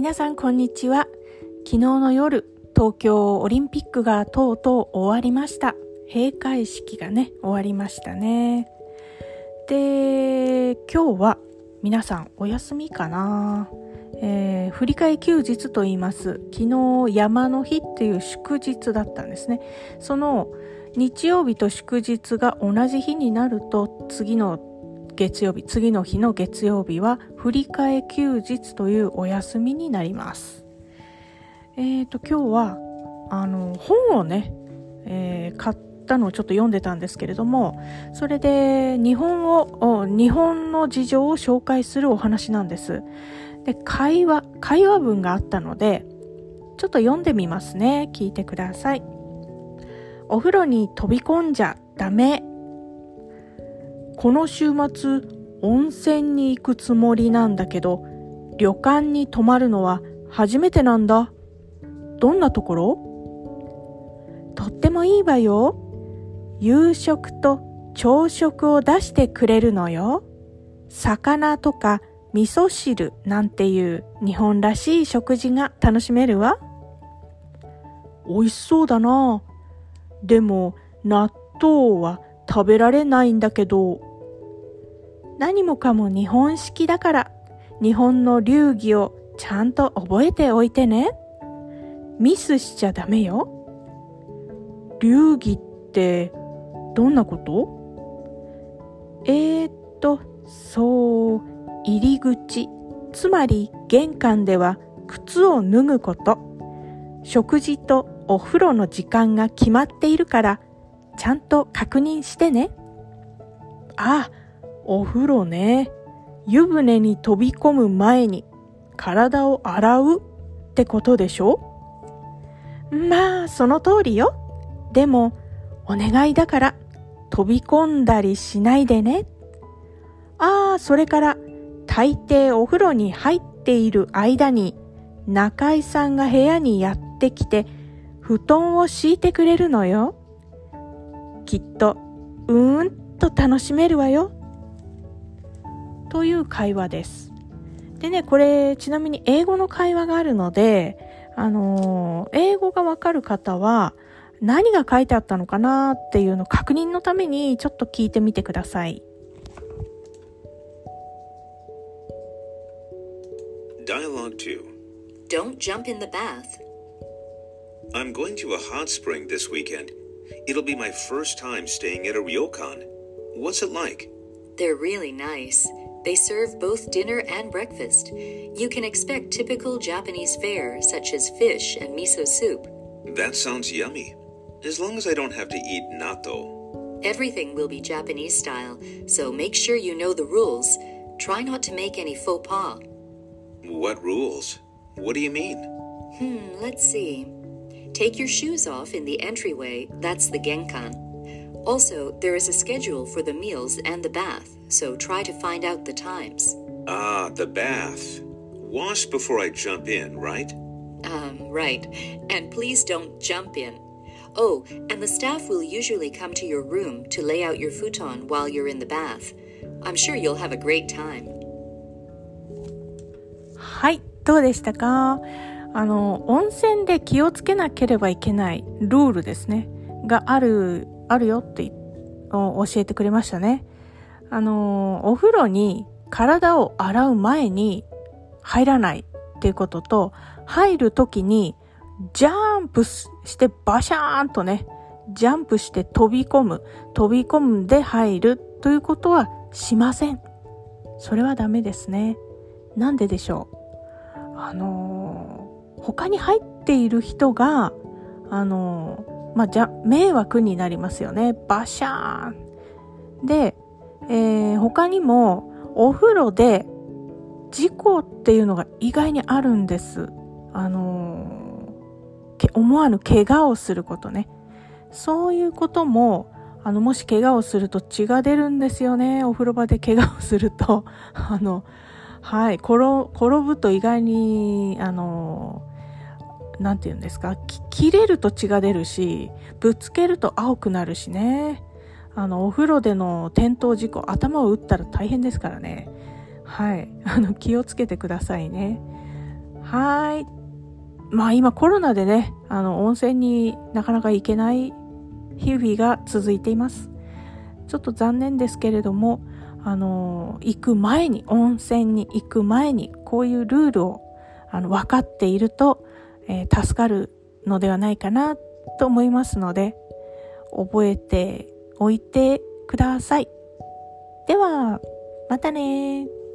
皆さんこんにちは。昨日の夜、東京オリンピックがとうとう終わりました。閉会式がね、終わりましたね。で、今日は皆さんお休みかな。振り替え休日と言います。昨日山の日っていう祝日だったんですね。その日曜日と祝日が同じ日になると、次の日の月曜日は振り替え休日というお休みになります。今日は本をね、買ったのをちょっと読んでたんですけれども、それで日本の事情を紹介するお話なんです。で、会話文があったのでちょっと読んでみますね。聞いてください。お風呂に飛び込んじゃダメ。この週末温泉に行くつもりなんだけど、旅館に泊まるのは初めてなんだ。どんなところ？とってもいいわよ。夕食と朝食を出してくれるのよ。魚とか味噌汁なんていう日本らしい食事が楽しめるわ。おいしそうだな。でも納豆は食べられないんだけど。何もかも日本式だから、日本の流儀をちゃんと覚えておいてね。ミスしちゃダメよ。流儀ってどんなこと？入り口、つまり玄関では靴を脱ぐこと。食事とお風呂の時間が決まっているから、ちゃんと確認してね。あ、お風呂ね。湯船に飛び込む前に体を洗うってことでしょ？まあ、その通りよ。でも、お願いだから飛び込んだりしないでね。それから大抵お風呂に入っている間に中井さんが部屋にやってきて布団を敷いてくれるのよ。きっとと楽しめるわよ。という会話です。でね、これちなみに英語の会話があるので、英語がわかる方は何が書いてあったのかなっていうのを確認のためにちょっと聞いてみてください。 Dialogue 2. Don't jump in the bath. I'm going to a hot spring this weekend. It'll be my first time staying at a ryokan. What's it like? They're really nice. They serve both dinner and breakfast. You can expect typical Japanese fare such as fish and miso soup. That sounds yummy. As long as I don't have to eat natto. Everything will be Japanese style, so make sure you know the rules. Try not to make any faux pas. What rules? What do you mean? Let's see. Take your shoes off in the entryway, that's the genkan. Also, there is a schedule for the meals and the bath, so try to find out the times. The bath. Wash before I jump in, right? Right. And please don't jump in. Oh, and the staff will usually come to your room to lay out your futon while you're in the bath. I'm sure you'll have a great time. はい、どうでしたか？温泉で気をつけなければいけないルールですねがあるよって教えてくれましたね。お風呂に体を洗う前に入らないっていうことと、入るときにジャンプしてバシャーンとね、ジャンプして飛び込んで入るということはしません。それはダメですね。なんででしょう？他に入っている人が迷惑になりますよね。バシャーンで、他にもお風呂で事故っていうのが意外にあるんです。思わぬ怪我をすることね。そういうことももし怪我をすると血が出るんですよね。お風呂場で怪我をするとはい、転ぶと意外になんていうんですか、切れると血が出るし、ぶつけると青くなるしね。お風呂での転倒事故、頭を打ったら大変ですからね。はい、気をつけてくださいね。 はい。まあ今コロナでね、温泉になかなか行けない日々が続いています。ちょっと残念ですけれども、温泉に行く前に、こういうルールを分かっていると、助かるのではないかなと思いますので、覚えておいてください。では、またね。